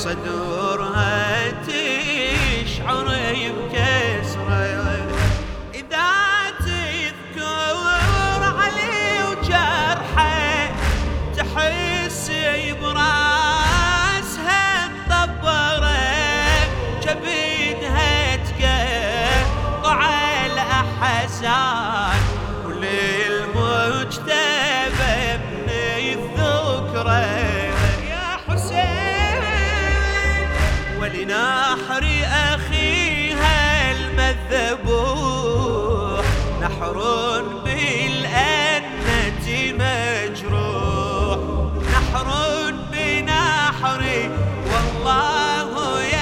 صدورها تشعر بكسره، إذا تذكر علي وجرحه تحس براسها مطبره، جبينها تقطع الأحزان وللمجتبى من الذكرى يا حسين، ولنحر أخيها المذبوح نحر بالأنة مجروح، نحر بنحر والله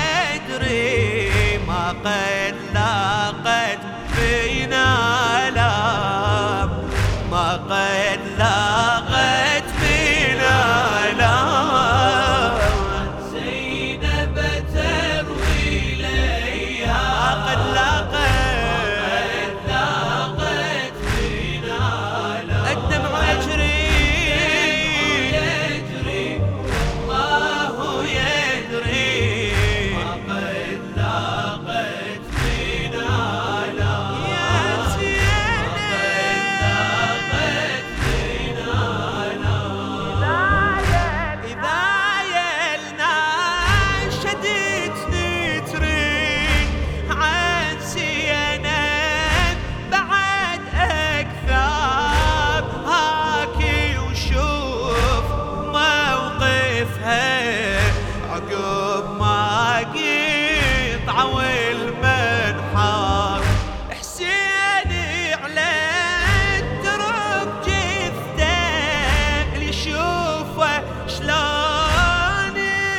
يدري ما قد لاقت فينا آلام، ما قد لاقت فينا آلام. زينب تروي ليها قد لاقت فينا آلام، الدمع يجري والله يدري ما قد لاقت فينا آلام. يا عقب ما قطعوا المنحر حسين على الدرب جثته، اللي يشوفه شلون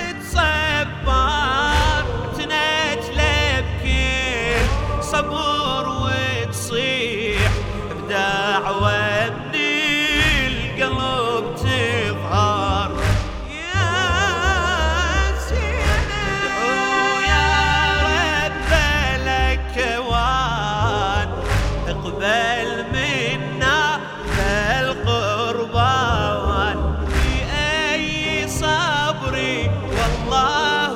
تصبر تنتله بكل صبر وتصيح بدعوة من القلب تظهر. اقبل منا القربان بأي صبري والله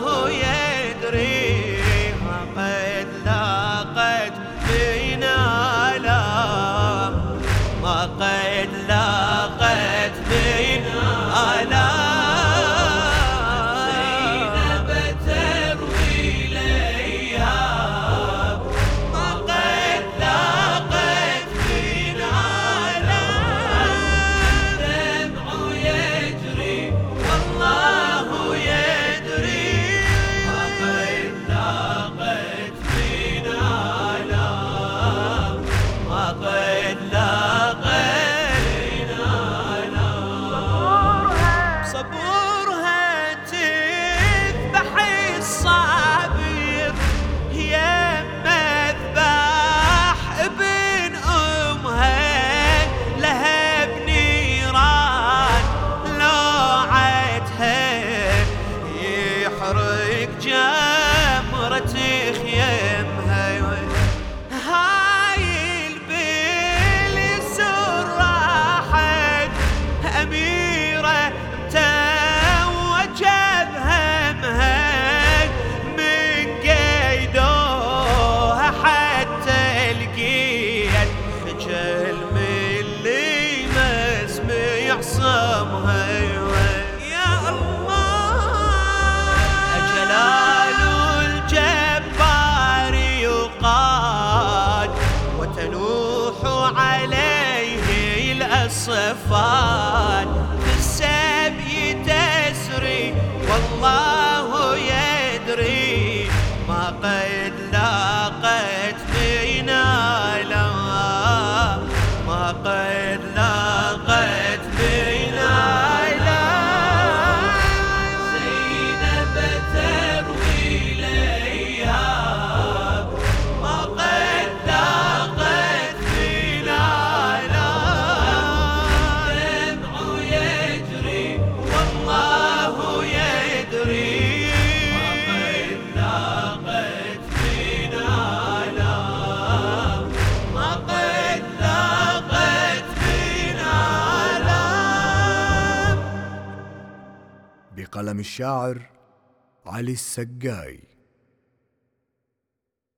يدري ما قد لاقت فينا آلام، ما قد لاقت فينا آلام. زينب تروي ليها ما قد لاقت فينا آلام، دمع يجري والله يدري ما قد لاقت فينا آلام، ما قد لاقت فينا آلام. صبورها تذبح الصابر هي مذبح ابن أمها، لها بنيران لوعتها يحرق جمرة خيمها. هاي البيل راحت أميرة توجه بهمها، من قيدوها حتى لقيت خجل من اللي مسمع صمها. يا الله جلال الجبار يقاد وتنوح عليه الأصفاد، في السبي تسري والله يدري ما قد لاقت فينا آلام، ما قد لاقت فينا آلام. زينب تروي ليها ما قد لاقت فينا آلام، دمع يجري والله يدري ما قد لاقت فينا آلام، ما قد لاقت فينا آلام. بقلم الشاعر علي السقاي.